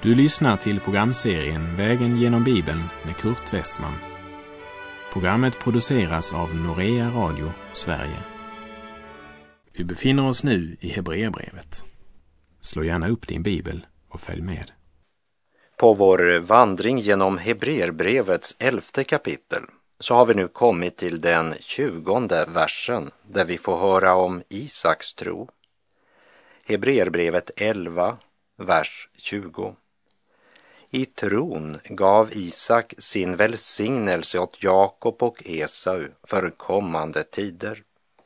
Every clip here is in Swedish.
Du lyssnar till programserien Vägen genom Bibeln med Kurt Westman. Programmet produceras av Norea Radio, Sverige. Vi befinner oss nu i Hebreerbrevet. Slå gärna upp din bibel och följ med. På vår vandring genom Hebreerbrevets 11:e kapitel så har vi nu kommit till den 20:e versen där vi får höra om Isaks tro. Hebreerbrevet 11, vers 20. I tron gav Isak sin välsignelse åt Jakob och Esau för kommande tider.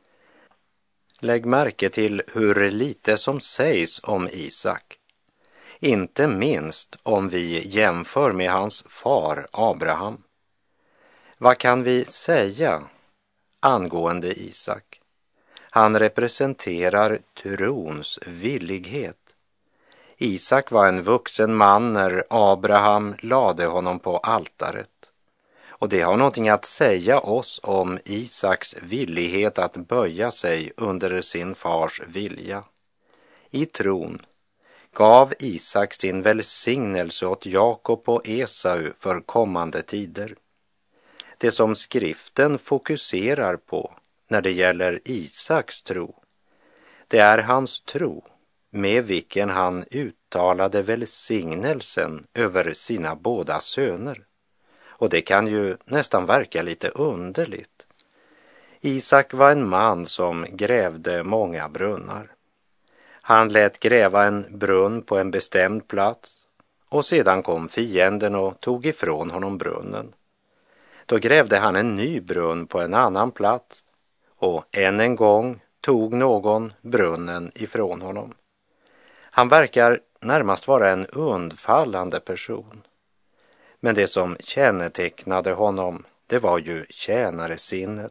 Lägg märke till hur lite som sägs om Isak. Inte minst om vi jämför med hans far Abraham. Vad kan vi säga angående Isak? Han representerar trons villighet. Isak var en vuxen man när Abraham lade honom på altaret. Och det har någonting att säga oss om Isaks villighet att böja sig under sin fars vilja. I tron gav Isak sin välsignelse åt Jakob och Esau för kommande tider. Det som skriften fokuserar på när det gäller Isaks tro, det är hans tro med vilken han uttalade välsignelsen över sina båda söner. Och det kan ju nästan verka lite underligt. Isak var en man som grävde många brunnar. Han lät gräva en brunn på en bestämd plats och sedan kom fienden och tog ifrån honom brunnen. Då grävde han en ny brunn på en annan plats och än en gång tog någon brunnen ifrån honom. Han verkar närmast vara en undfallande person. Men det som kännetecknade honom, det var ju tjänaresinnet,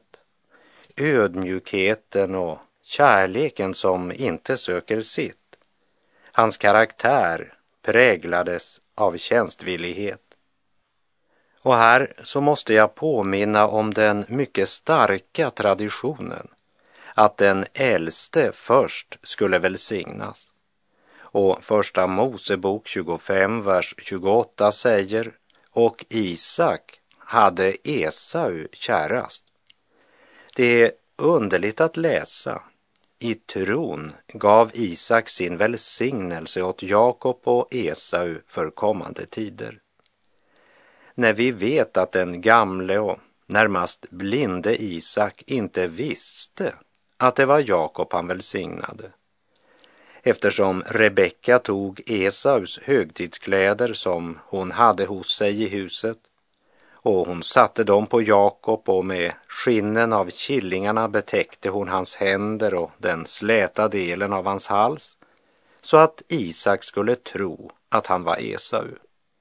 ödmjukheten och kärleken som inte söker sitt. Hans karaktär präglades av tjänstvillighet. Och här så måste jag påminna om den mycket starka traditionen att den äldste först skulle välsignas. Och första Mosebok 25, vers 28 säger: och Isak hade Esau kärast. Det är underligt att läsa. I tron gav Isak sin välsignelse åt Jakob och Esau för kommande tider. När vi vet att den gamle och närmast blinde Isak inte visste att det var Jakob han välsignade. Eftersom Rebecka tog Esaus högtidskläder som hon hade hos sig i huset och hon satte dem på Jakob och med skinnen av killingarna betäckte hon hans händer och den släta delen av hans hals så att Isak skulle tro att han var Esau.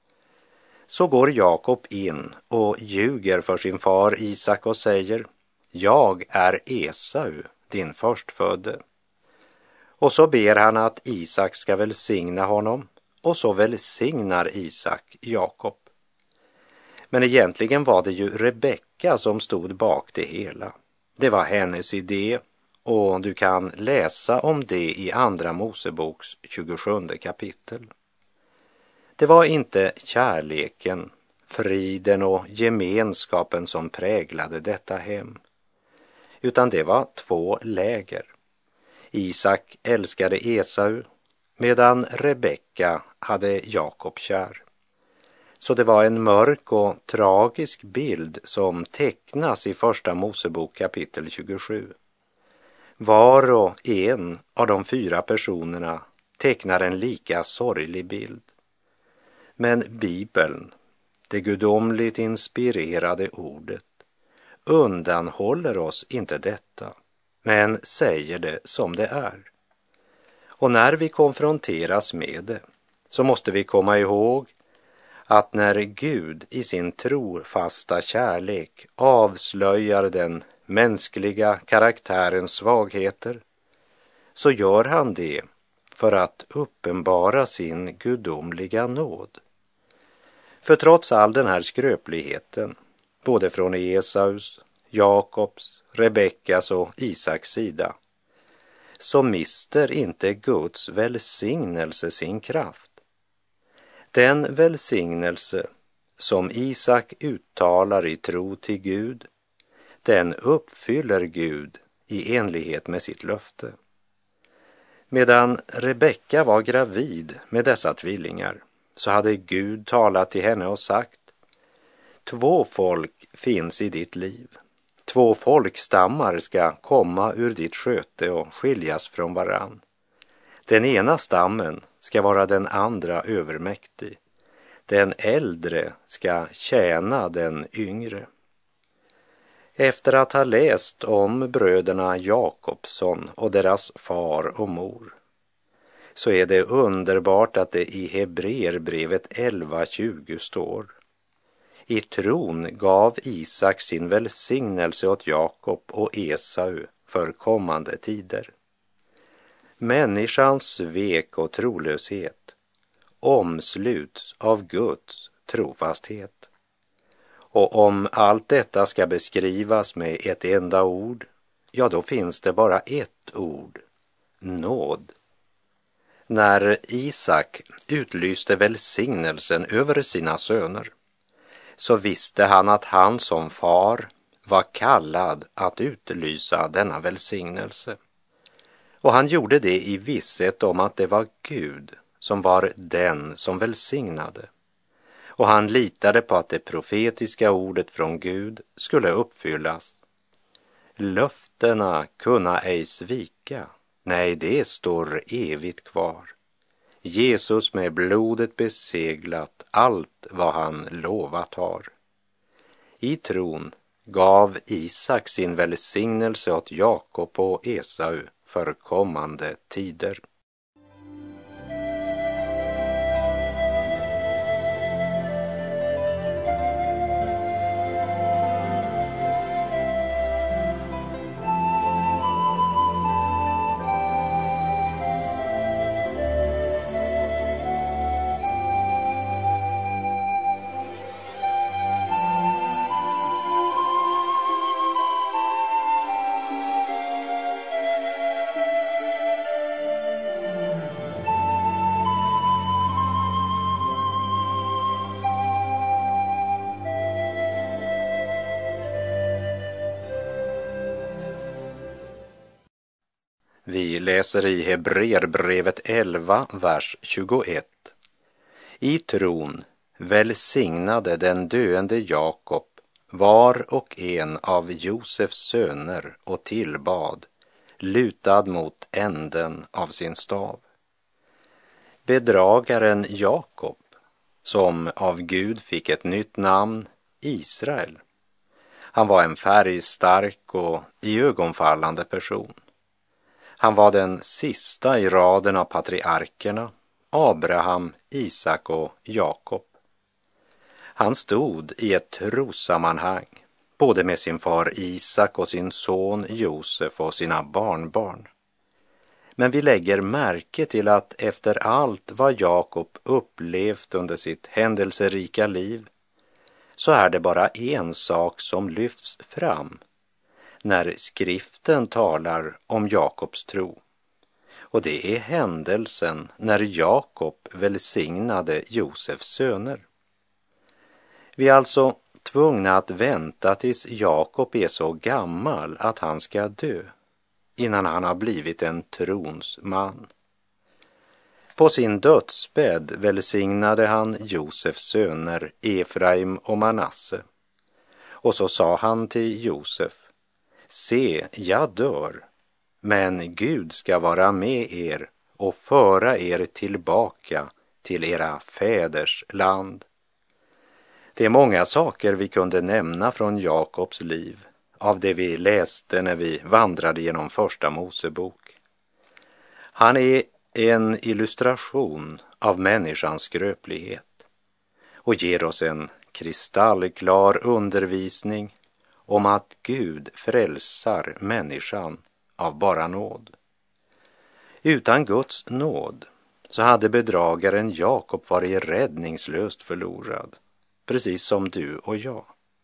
Så går Jakob in och ljuger för sin far Isak och säger: jag är Esau, din förstfödde. Och så ber han att Isak ska välsigna honom, och så välsignar Isak Jakob. Men egentligen var det ju Rebecka som stod bak det hela. Det var hennes idé, och du kan läsa om det i andra Moseboks 27:e kapitel. Det var inte kärleken, friden och gemenskapen som präglade detta hem, utan det var två läger. Isak älskade Esau medan Rebecka hade Jakob kär. Så det var en mörk och tragisk bild som tecknas i första Mosebok kapitel 27. Var och en av de 4 personerna tecknar en lika sorglig bild. Men Bibeln, det gudomligt inspirerade ordet, undanhåller oss inte detta, men säger det som det är. Och när vi konfronteras med det så måste vi komma ihåg att när Gud i sin trofasta kärlek avslöjar den mänskliga karaktärens svagheter, så gör han det för att uppenbara sin gudomliga nåd. För trots all den här skröpligheten, både från Esaus, Jakobs, Rebeckas och Isaks sida, så mister inte Guds välsignelse sin kraft. Den välsignelse som Isak uttalar i tro till Gud, den uppfyller Gud i enlighet med sitt löfte. Medan Rebecka var gravid med dessa tvillingar så hade Gud talat till henne och sagt: 2 folk finns i ditt liv. 2 folkstammar ska komma ur ditt sköte och skiljas från varann. Den ena stammen ska vara den andra övermäktig. Den äldre ska tjäna den yngre. Efter att ha läst om bröderna Jakobsson och deras far och mor, så är det underbart att det i Hebreerbrevet 11:20 står: I tron gav Isak sin välsignelse åt Jakob och Esau för kommande tider. Människans svek och trolöshet omsluts av Guds trofasthet. Och om allt detta ska beskrivas med ett enda ord, ja, då finns det bara ett ord: nåd. När Isak utlyste välsignelsen över sina söner, så visste han att han som far var kallad att utlysa denna välsignelse. Och han gjorde det i visshet om att det var Gud som var den som välsignade. Och han litade på att det profetiska ordet från Gud skulle uppfyllas. Löftena kunna ej svika, nej, det står evigt kvar. Jesus med blodet beseglat allt vad han lovat har. I tron gav Isak sin välsignelse åt Jakob och Esau för kommande tider. Vi läser i Hebreerbrevet 11, vers 21. I tron välsignade den döende Jakob var och en av Josefs söner och tillbad, lutad mot änden av sin stav. Bedragaren Jakob, som av Gud fick ett nytt namn, Israel. Han var en färgstark och iögonfallande person. Han var den sista i raden av patriarkerna, Abraham, Isak och Jakob. Han stod i ett trossammanhang, både med sin far Isak och sin son Josef och sina barnbarn. Men vi lägger märke till att efter allt vad Jakob upplevt under sitt händelserika liv, så är det bara en sak som lyfts fram när skriften talar om Jakobs tro. Och det är händelsen när Jakob välsignade Josefs söner. Vi är alltså tvungna att vänta tills Jakob är så gammal att han ska dö, innan han har blivit en trons man. På sin dödsbädd välsignade han Josefs söner Efraim och Manasse. Och så sa han till Josef: se, jag dör, men Gud ska vara med er och föra er tillbaka till era fäders land. Det är många saker vi kunde nämna från Jakobs liv, av det vi läste när vi vandrade genom första Mosebok. Han är en illustration av människans skröplighet och ger oss en kristallklar undervisning om att Gud frälsar människan av bara nåd. Utan Guds nåd så hade bedragaren Jakob varit räddningslöst förlorad, precis som du och jag.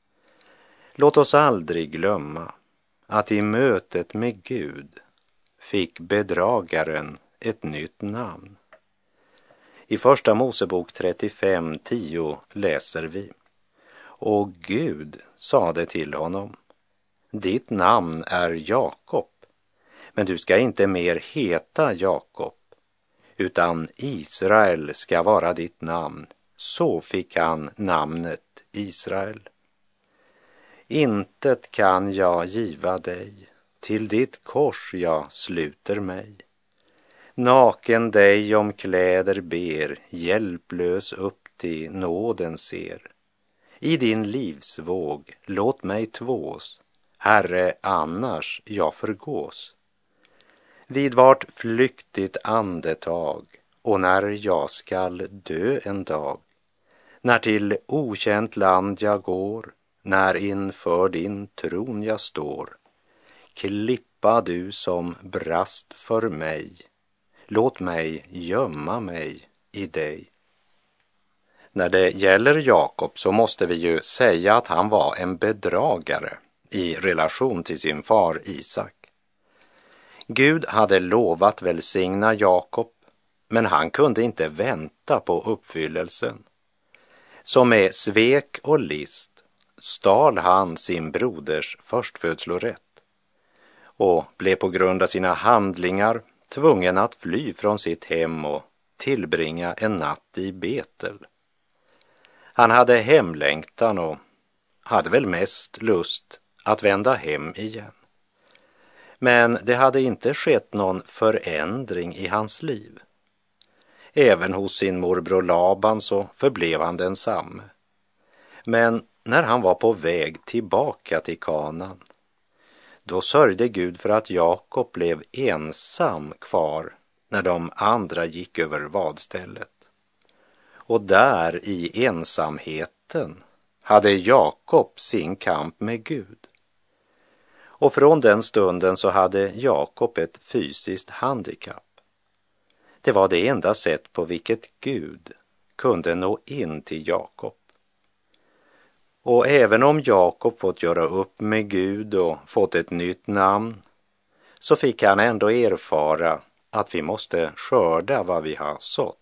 Låt oss aldrig glömma att i mötet med Gud fick bedragaren ett nytt namn. I Första Mosebok 35:10 läser vi: Och Gud sade till honom: ditt namn är Jakob, men du ska inte mer heta Jakob, utan Israel ska vara ditt namn. Så fick han namnet Israel. Intet kan jag giva dig, till ditt kors jag sluter mig. Naken dig om kläder ber, hjälplös upp till nåden ser. I din livsvåg låt mig tvås, Herre, annars jag förgås. Vid vart flyktigt andetag, och när jag skall dö en dag, när till okänt land jag går, när inför din tron jag står, klippa du som brast för mig, låt mig gömma mig i dig. När det gäller Jakob så måste vi ju säga att han var en bedragare i relation till sin far Isak. Gud hade lovat välsigna Jakob, men han kunde inte vänta på uppfyllelsen. Så med svek och list stal han sin broders förstfödslorätt och blev på grund av sina handlingar tvungen att fly från sitt hem och tillbringa en natt i Betel. Han hade hemlängtan och hade väl mest lust att vända hem igen. Men det hade inte skett någon förändring i hans liv. Även hos sin morbror Laban så förblev han densamme. Men när han var på väg tillbaka till Kanaan, då sörjde Gud för att Jakob blev ensam kvar när de andra gick över vadstället. Och där i ensamheten hade Jakob sin kamp med Gud. Och från den stunden så hade Jakob ett fysiskt handikapp. Det var det enda sätt på vilket Gud kunde nå in till Jakob. Och även om Jakob fått göra upp med Gud och fått ett nytt namn, så fick han ändå erfara att vi måste skörda vad vi har sått.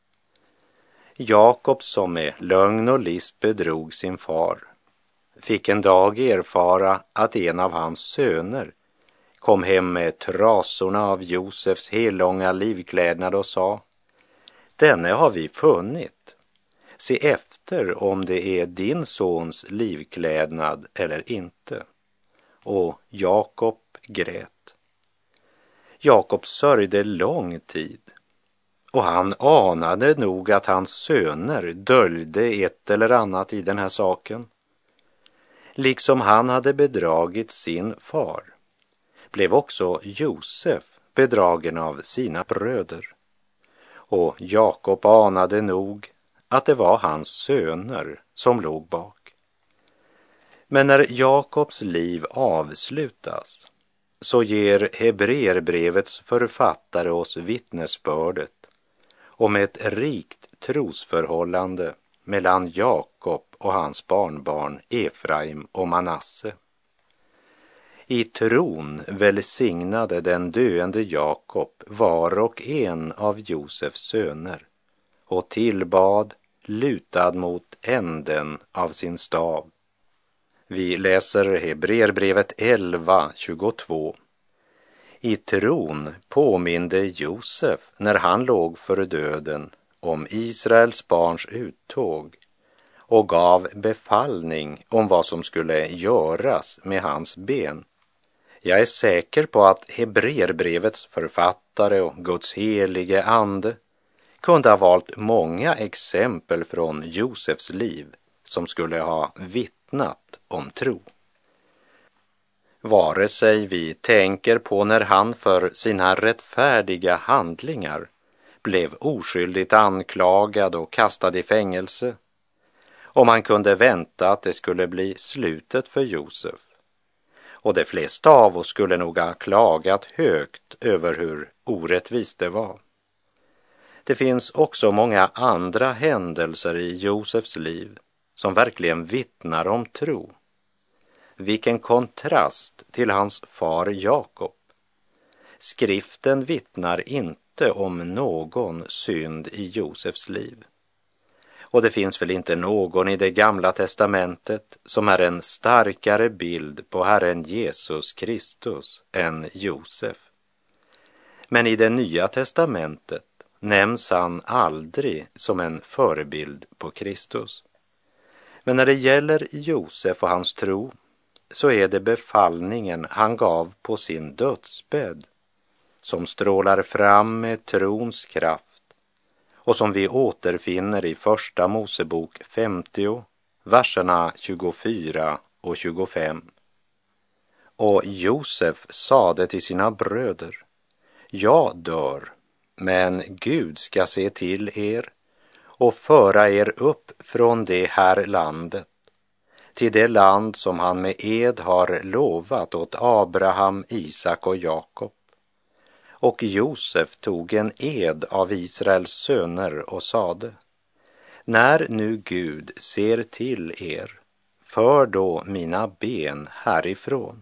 Jakob, som med lögn och list bedrog sin far, fick en dag erfara att en av hans söner kom hem med trasorna av Josefs hellånga livklädnad och sa: denne har vi funnit. Se efter om det är din sons livklädnad eller inte. Och Jakob grät. Jakob sörjde lång tid, och han anade nog att hans söner döljde ett eller annat i den här saken. Liksom han hade bedragit sin far, blev också Josef bedragen av sina bröder. Och Jakob anade nog att det var hans söner som låg bak. Men när Jakobs liv avslutas så ger Hebreerbrevets författare oss vittnesbördet om ett rikt trosförhållande mellan Jakob och hans barnbarn Efraim och Manasse. I tron välsignade den döende Jakob var och en av Josefs söner och tillbad lutad mot änden av sin stav. Vi läser Hebreerbrevet 11:22. I tron påminde Josef när han låg för döden om Israels barns uttåg och gav befallning om vad som skulle göras med hans ben. Jag är säker på att Hebreerbrevets författare och Guds helige ande kunde ha valt många exempel från Josefs liv som skulle ha vittnat om tro. Vare sig vi tänker på när han för sina rättfärdiga handlingar blev oskyldigt anklagad och kastad i fängelse, och man kunde vänta att det skulle bli slutet för Josef. Och de flesta av oss skulle nog ha klagat högt över hur orättvist det var. Det finns också många andra händelser i Josefs liv som verkligen vittnar om tro. Vilken kontrast till hans far Jakob. Skriften vittnar inte inte om någon synd i Josefs liv. Och det finns väl inte någon i det gamla testamentet som är en starkare bild på Herren Jesus Kristus än Josef. Men i det nya testamentet nämns han aldrig som en förebild på Kristus. Men när det gäller Josef och hans tro så är det befallningen han gav på sin dödsbädd som strålar fram med trons kraft och som vi återfinner i Första Mosebok 50, verserna 24 och 25. Och Josef sade till sina bröder: jag dör, men Gud ska se till er och föra er upp från det här landet, till det land som han med ed har lovat åt Abraham, Isak och Jakob. Och Josef tog en ed av Israels söner och sade: när nu Gud ser till er, för då mina ben härifrån.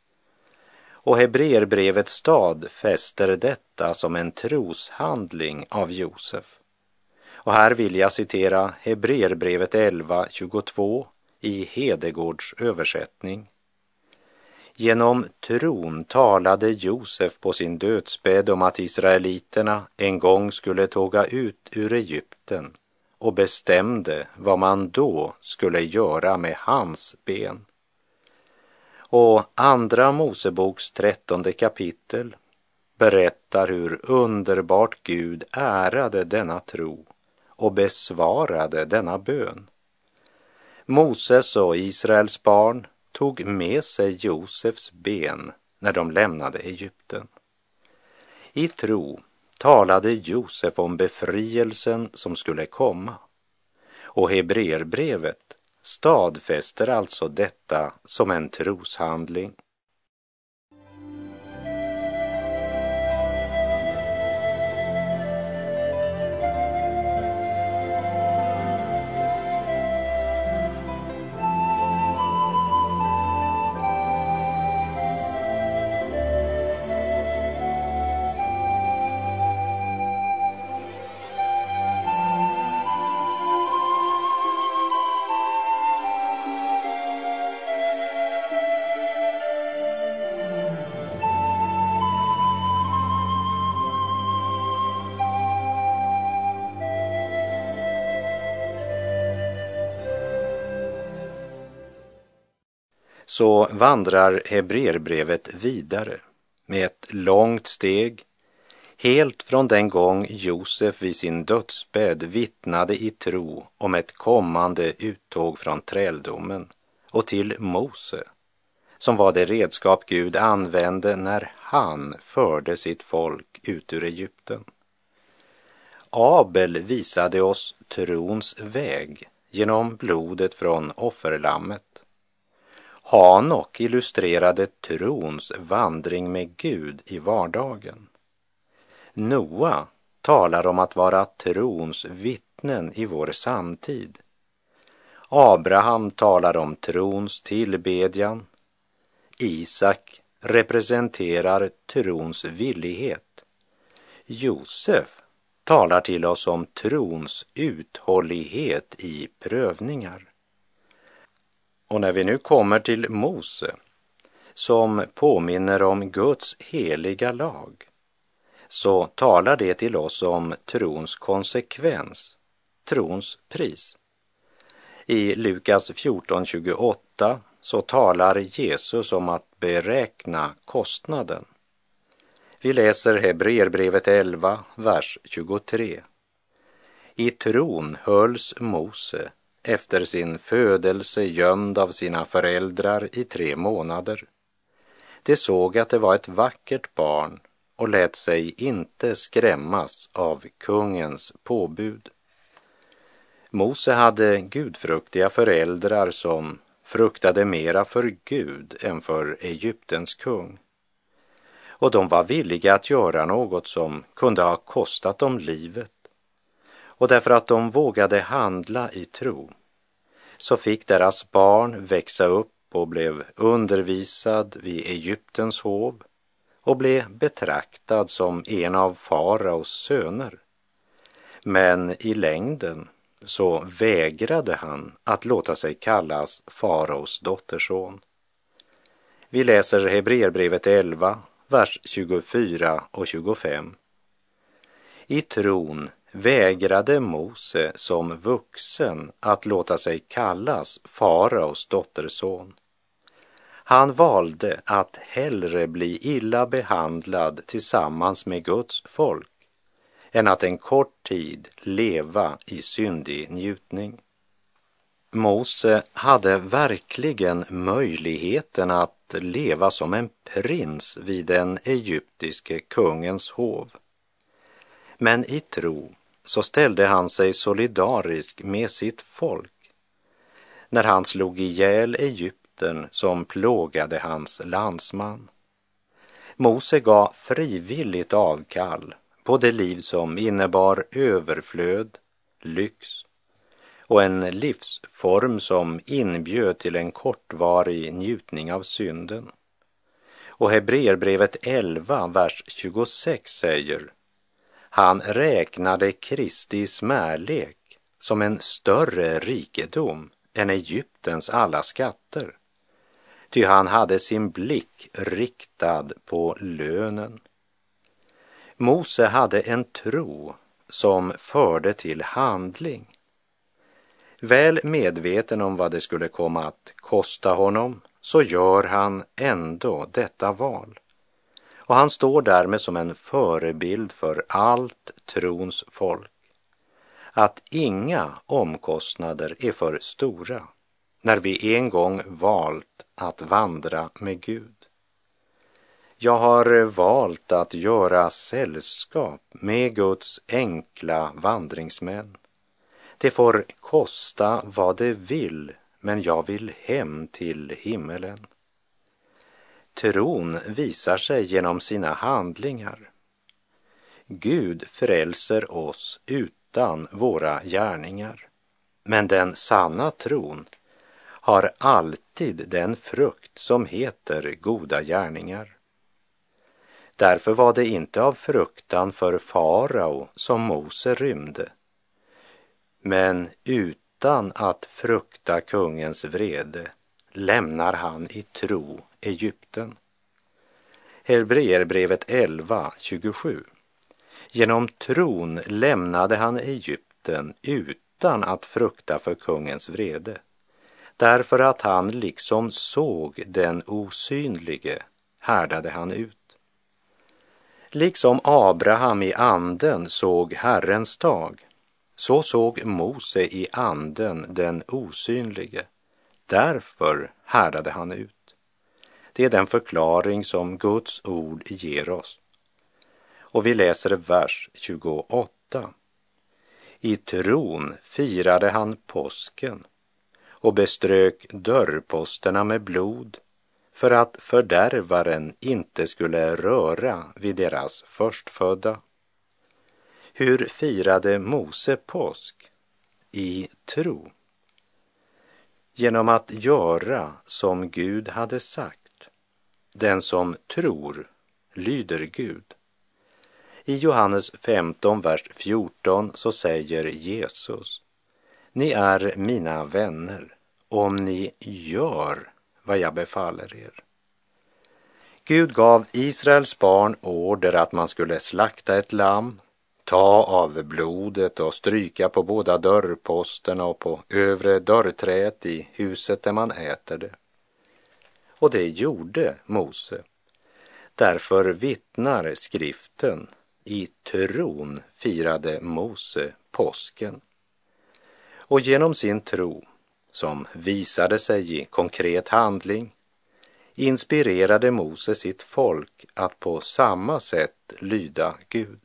Och Hebreerbrevet stadfäster detta som en troshandling av Josef. Och här vill jag citera Hebreerbrevet 11:22 i Hedegårds översättning. Genom tron talade Josef på sin dödsbädd om att israeliterna en gång skulle tåga ut ur Egypten och bestämde vad man då skulle göra med hans ben. Och Andra Moseboks 13:e kapitel berättar hur underbart Gud ärade denna tro och besvarade denna bön. Moses och Israels barn tog med sig Josefs ben när de lämnade Egypten. I tro talade Josef om befrielsen som skulle komma, och Hebreerbrevet stadfäster alltså detta som en troshandling. Så vandrar Hebreerbrevet vidare med ett långt steg, helt från den gång Josef vid sin dödsbädd vittnade i tro om ett kommande uttåg från träldomen, och till Mose, som var det redskap Gud använde när han förde sitt folk ut ur Egypten. Abel visade oss trons väg genom blodet från offerlammet. Hanok illustrerade trons vandring med Gud i vardagen. Noa talar om att vara trons vittnen i vår samtid. Abraham talar om trons tillbedjan. Isak representerar trons villighet. Josef talar till oss om trons uthållighet i prövningar. Och när vi nu kommer till Mose, som påminner om Guds heliga lag, så talar det till oss om trons konsekvens, trons pris. I Lukas 14:28 så talar Jesus om att beräkna kostnaden. Vi läser Hebreerbrevet 11, vers 23. I tron hölls Mose efter sin födelse gömd av sina föräldrar i 3 månader. De såg att det var ett vackert barn och lät sig inte skrämmas av kungens påbud. Mose hade gudfruktiga föräldrar som fruktade mera för Gud än för Egyptens kung. Och de var villiga att göra något som kunde ha kostat dem livet. Och därför att de vågade handla i tro, så fick deras barn växa upp och blev undervisad vid Egyptens hov och blev betraktad som en av faraos söner. Men i längden så vägrade han att låta sig kallas faraos dotterson. Vi läser Hebreerbrevet 11, vers 24 och 25. I tron vägrade Mose som vuxen att låta sig kallas faraos dotterson. Han valde att hellre bli illa behandlad tillsammans med Guds folk än att en kort tid leva i syndig njutning. Mose hade verkligen möjligheten att leva som en prins vid den egyptiske kungens hov. Men i tro så ställde han sig solidarisk med sitt folk när han slog ihjäl Egypten som plågade hans landsman. Mose gav frivilligt avkall på det liv som innebar överflöd, lyx och en livsform som inbjöd till en kortvarig njutning av synden. Och Hebreerbrevet 11, vers 26 säger: han räknade Kristi smärlek som en större rikedom än Egyptens alla skatter, ty han hade sin blick riktad på lönen. Mose hade en tro som förde till handling. Väl medveten om vad det skulle komma att kosta honom, så gör han ändå detta val. Och han står därmed som en förebild för allt trons folk. Att inga omkostnader är för stora när vi en gång valt att vandra med Gud. Jag har valt att göra sällskap med Guds enkla vandringsmän. Det får kosta vad det vill, men jag vill hem till himmelen. Tron visar sig genom sina handlingar. Gud frälser oss utan våra gärningar, men den sanna tron har alltid den frukt som heter goda gärningar. Därför var det inte av fruktan för farao som Mose rymde, men utan att frukta kungens vrede lämnar han i tro Egypten. Hebreerbrevet 11, 27. Genom tron lämnade han Egypten utan att frukta för kungens vrede, därför att han liksom såg den osynlige härdade han ut. Liksom Abraham i anden såg Herrens dag, så såg Mose i anden den osynlige. Därför härdade han ut. Det är den förklaring som Guds ord ger oss. Och vi läser vers 28. I tron firade han påsken och beströk dörrposterna med blod för att fördärvaren inte skulle röra vid deras förstfödda. Hur firade Mose påsk? I tro. Genom att göra som Gud hade sagt. Den som tror lyder Gud. I Johannes 15, vers 14 så säger Jesus: ni är mina vänner om ni gör vad jag befaller er. Gud gav Israels barn order att man skulle slakta ett lamm, ta av blodet och stryka på båda dörrposterna och på övre dörrträet i huset där man äter det. Och det gjorde Mose. Därför vittnar skriften: i tron firade Mose påsken. Och genom sin tro, som visade sig i konkret handling, inspirerade Mose sitt folk att på samma sätt lyda Gud.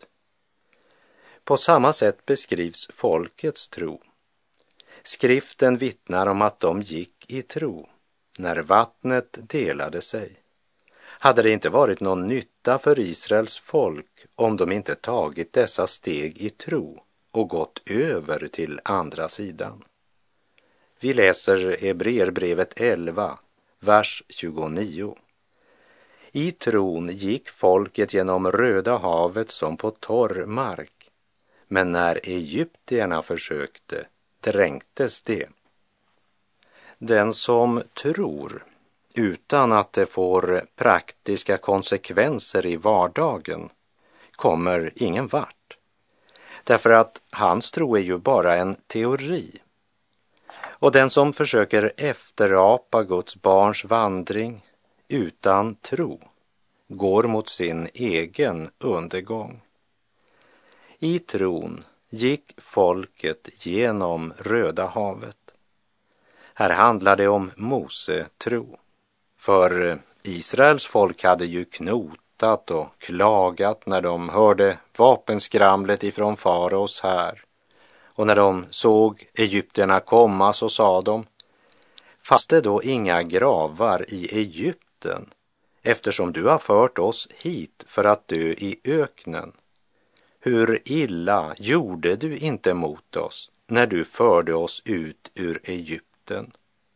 På samma sätt beskrivs folkets tro. Skriften vittnar om att de gick i tro när vattnet delade sig. Hade det inte varit någon nytta för Israels folk om de inte tagit dessa steg i tro och gått över till andra sidan? Vi läser Hebreerbrevet 11, vers 29. I tron gick folket genom Röda havet som på torr mark, men när egyptierna försökte dränktes det. Den som tror utan att det får praktiska konsekvenser i vardagen kommer ingen vart. Därför att hans tro är ju bara en teori. Och den som försöker efterapa Guds barns vandring utan tro går mot sin egen undergång. I tron gick folket genom Röda havet. Här handlar det om Mose tro. För Israels folk hade ju knotat och klagat när de hörde vapenskramlet ifrån faraos här. Och när de såg egyptierna komma så sa de: fast det då inga gravar i Egypten, eftersom du har fört oss hit för att dö i öknen. Hur illa gjorde du inte mot oss när du förde oss ut ur Egypten?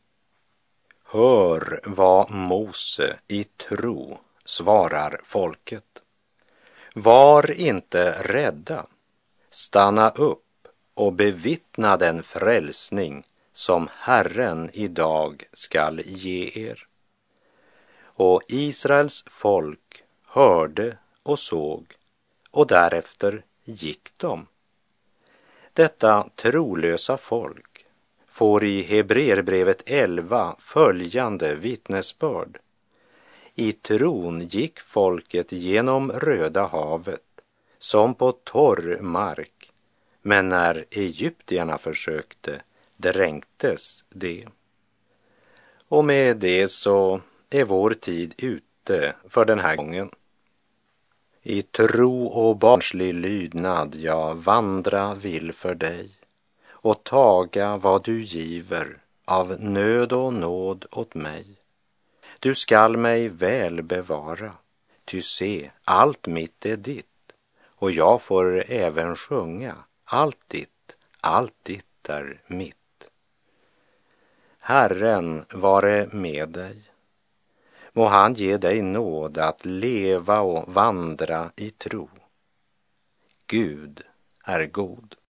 Hör vad Mose i tro svarar folket. Var inte rädda, stanna upp och bevittna den frälsning som Herren idag skall ge er. Och Israels folk hörde och såg, och därefter gick de. Detta trolösa folk får i Hebreerbrevet 11 följande vittnesbörd. I tron gick folket genom Röda havet som på torr mark, men när egyptierna försökte dränktes det. Och med det så är vår tid ute för den här gången. I tro och barnslig lydnad jag vandra vill för dig och taga vad du giver av nöd och nåd åt mig. Du skall mig väl bevara, ty se, allt mitt är ditt, och jag får även sjunga, allt ditt är mitt. Herren vare med dig. Må han ge dig nåd att leva och vandra i tro. Gud är god.